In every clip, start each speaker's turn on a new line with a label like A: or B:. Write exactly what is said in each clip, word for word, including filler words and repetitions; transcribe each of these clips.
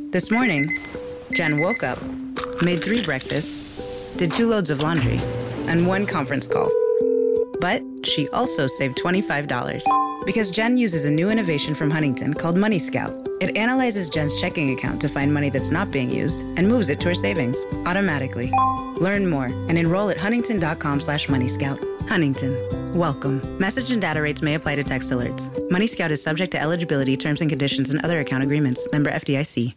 A: This morning, Jen woke up, made three breakfasts, did two loads of laundry, and one conference call. But she also saved twenty-five dollars because Jen uses a new innovation from Huntington called Money Scout. It analyzes Jen's checking account to find money that's not being used and moves it to her savings automatically. Learn more and enroll at huntington.com slash money scout. Huntington. Welcome. Message and data rates may apply to text alerts. Money Scout is subject to eligibility, terms and conditions, and other account agreements. Member F D I C.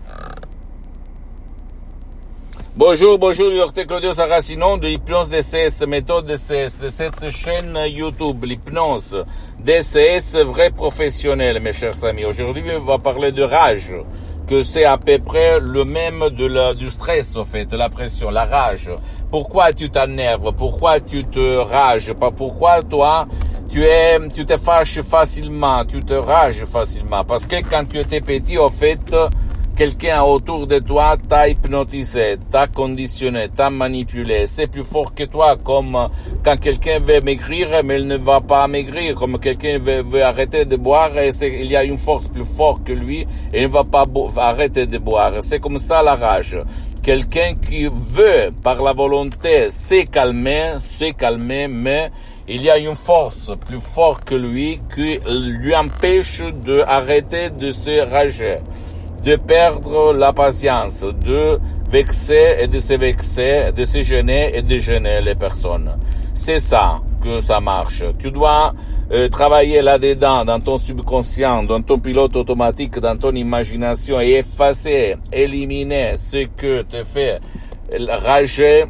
B: Bonjour, bonjour, docteur Claudio Saracino de Hypnose D C S, méthode D C S, de cette chaîne YouTube, l'hypnose D C S, vrai professionnel, mes chers amis. Aujourd'hui, on va parler de rage, que c'est à peu près le même de la, du stress, en fait, la pression, la rage. Pourquoi tu t'énerves? Pourquoi tu te rages? Pas pourquoi toi, tu es, tu te fâches facilement, tu te rages facilement. Parce que quand tu étais petit, en fait, quelqu'un autour de toi t'a hypnotisé, t'a conditionné, t'a manipulé. C'est plus fort que toi, comme quand quelqu'un veut maigrir, mais il ne va pas maigrir. Comme quelqu'un veut, veut arrêter de boire, et c'est, il y a une force plus forte que lui, et il ne va pas bo- arrêter de boire. C'est comme ça la rage. Quelqu'un qui veut, par la volonté, se calmer, se calmer, mais il y a une force plus forte que lui qui lui empêche d'arrêter de se rager, de perdre la patience, de vexer et de se vexer, de se gêner et de gêner les personnes. C'est ça que ça marche. Tu dois euh, travailler là-dedans, dans ton subconscient, dans ton pilote automatique, dans ton imagination et effacer, éliminer ce que te fait rager,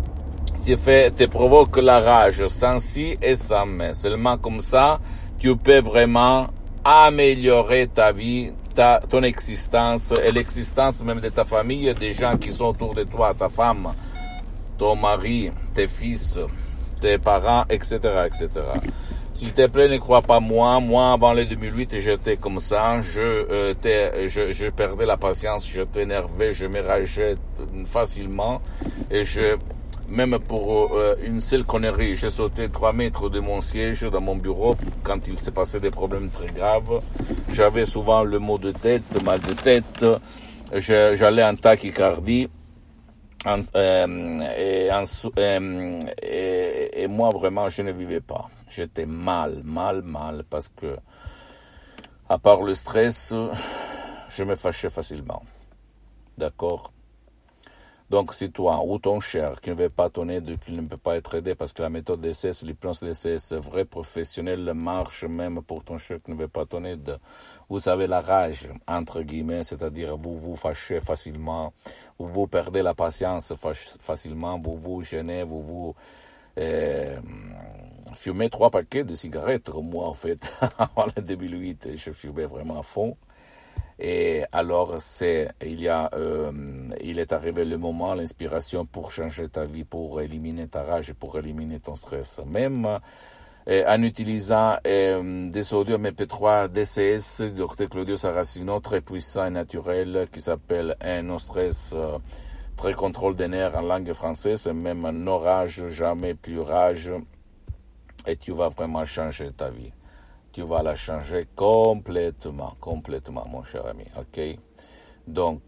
B: te fait, te provoque la rage, sans si et sans mais. Seulement comme ça, tu peux vraiment améliorer ta vie, ta, ton existence et l'existence même de ta famille, des gens qui sont autour de toi, ta femme, ton mari, tes fils, tes parents, et cetera, et cetera. S'il te plaît, ne crois pas moi. Moi, avant le deux mille huit, j'étais comme ça. Je, euh, t'ai, je, je perdais la patience, je t'énervais, je me rageais facilement et je, même pour euh, une seule connerie, j'ai sauté trois mètres de mon siège dans mon bureau quand il s'est passé des problèmes très graves. J'avais souvent le mot de tête, mal de tête. Je, j'allais en tachycardie. En, euh, et, en, euh, et, et moi, vraiment, je ne vivais pas. J'étais mal, mal, mal, parce que, à part le stress, je me fâchais facilement. D'accord? Donc, si toi ou ton cher qui ne veut pas ton aide, qui ne peut pas être aidé, parce que la méthode D C S, l'hypnose D C S, vrai professionnel, marche même pour ton cher qui ne veut pas ton aide. Vous avez la rage, entre guillemets, c'est-à-dire vous vous fâchez facilement, vous vous perdez la patience facilement, vous vous gênez, vous vous euh, fumez trois paquets de cigarettes. Moi, en fait, avant le deux mille huit, je fumais vraiment à fond. Et alors, c'est, il y a, euh, il est arrivé le moment, l'inspiration pour changer ta vie, pour éliminer ta rage, pour éliminer ton stress. Même euh, en utilisant euh, des audios M P trois D C S, docteur Claudio Saracino, très puissant et naturel, qui s'appelle un no stress, euh, très contrôle des nerfs en langue française, même no rage, jamais plus rage, et tu vas vraiment changer ta vie. Tu vas la changer complètement, complètement, mon cher ami, ok? Donc,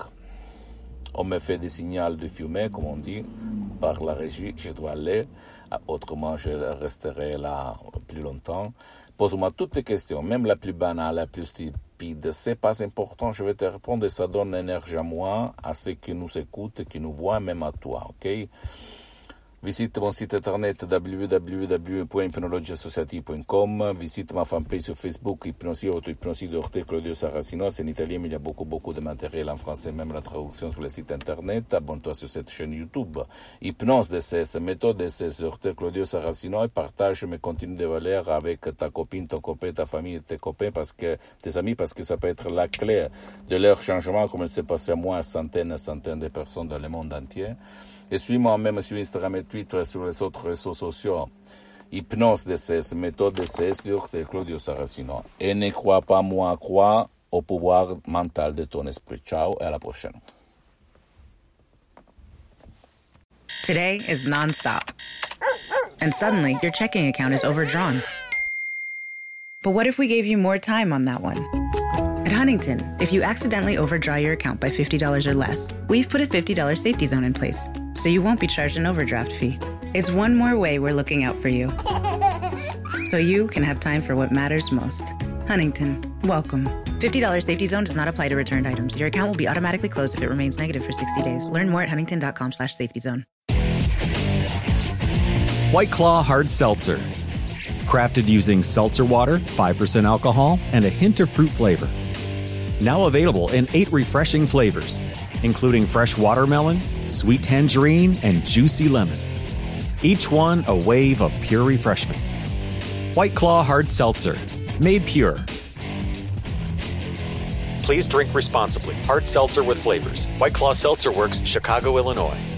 B: on me fait des signaux de fumée, comme on dit, par la régie, je dois aller, autrement je resterai là plus longtemps. Pose-moi toutes tes questions, même la plus banale, la plus stupide, c'est pas important, je vais te répondre et ça donne énergie à moi, à ceux qui nous écoutent, qui nous voient, même à toi, ok? Visite mon site internet w w w point hypnologie associative point com, visite ma fanpage sur Facebook, Hypnosie, auto-hypnosie de docteur Claudio Saracino, c'est en italien, mais il y a beaucoup, beaucoup de matériel en français, même la traduction sur le site internet. Abonne-toi sur cette chaîne YouTube, Hypnose D C S, méthode D C S, docteur Claudio Saracino, et partage mes contenus de valeur avec ta copine, ton copain, ta famille, tes copains, parce que, tes amis, parce que ça peut être la clé de leur changement, comme il s'est passé à moi, à centaines et centaines de personnes dans le monde entier. Et suis-moi même sur Instagram et Twitter, sur les autres réseaux sociaux. Hypnose D C S, méthode D C S, docteur Claudio Saracino. Et ne crois pas moi, crois au pouvoir mental de ton esprit. Ciao et à la prochaine.
A: Today is nonstop. And suddenly, your checking account is overdrawn. But what if we gave you more time on that one? At Huntington, if you accidentally overdraw your account by fifty dollars or less, we've put a fifty dollars safety zone in place, so you won't be charged an overdraft fee. It's one more way we're looking out for you, so you can have time for what matters most. Huntington, welcome. fifty dollars safety zone does not apply to returned items. Your account will be automatically closed if it remains negative for sixty days. Learn more at huntington.com slash safety zone.
C: White Claw Hard Seltzer. Crafted using seltzer water, five percent alcohol, and a hint of fruit flavor. Now available in eight refreshing flavors, including fresh watermelon, sweet tangerine, and juicy lemon. Each one a wave of pure refreshment. White Claw Hard Seltzer. Made pure. Please drink responsibly. Hard seltzer with flavors. White Claw Seltzer Works, Chicago, Illinois.